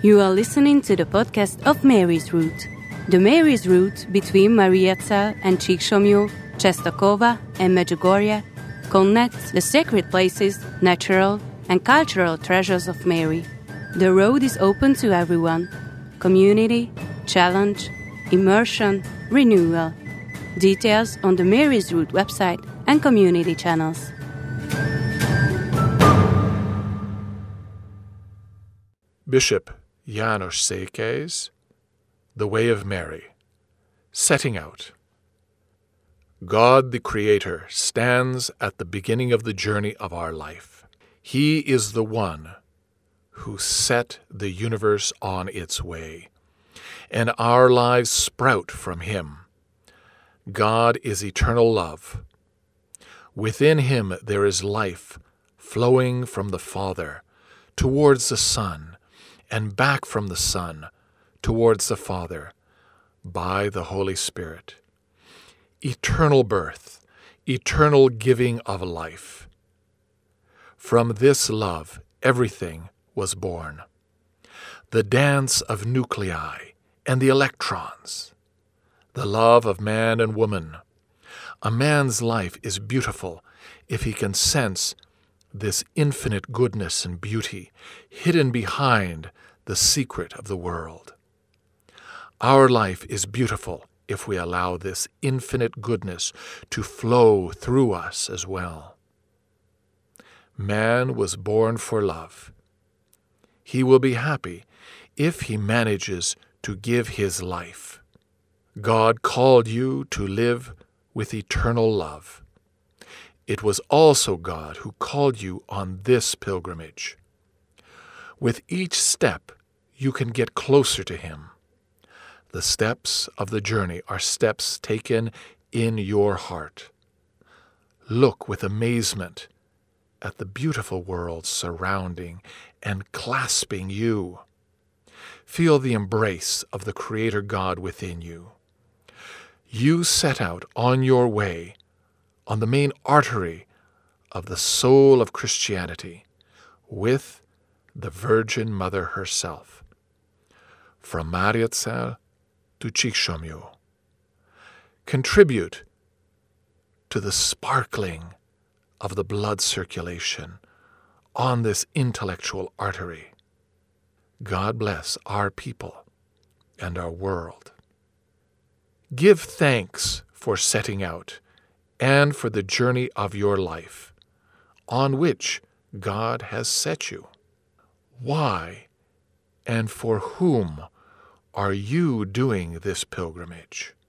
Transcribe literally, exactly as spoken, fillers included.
You are listening to the podcast of Mary's Route. The Mary's Route between Mariazell and Csíksomlyó, Czestochowa and Medjugorje connects the sacred places, natural and cultural treasures of Mary. The road is open to everyone. Community, challenge, immersion, renewal. Details on the Mary's Route website and community channels. Bishop János Székely's The Way of Mary. Setting out. God the Creator stands at the beginning of the journey of our life. He is the one who set the universe on its way, and our lives sprout from Him. God is eternal love. Within Him there is life flowing from the Father towards the Son, and back from the Son towards the Father by the Holy Spirit. Eternal birth, eternal giving of life. From this love everything was born. The dance of nuclei and the electrons. The love of man and woman. A man's life is beautiful if he can sense this infinite goodness and beauty hidden behind the secret of the world. Our life is beautiful if we allow this infinite goodness to flow through us as well. Man was born for love. He will be happy if he manages to give his life. God called you to live with eternal love. It was also God who called you on this pilgrimage. With each step, you can get closer to Him. The steps of the journey are steps taken in your heart. Look with amazement at the beautiful world surrounding and clasping you. Feel the embrace of the Creator God within you. You set out on your way on the main artery of the soul of Christianity with the Virgin Mother herself. From Mariazell to Csíksomlyó. Contribute to the sparkling of the blood circulation on this intellectual artery. God bless our people and our world. Give thanks for setting out and for the journey of your life, on which God has set you. Why and for whom are you doing this pilgrimage?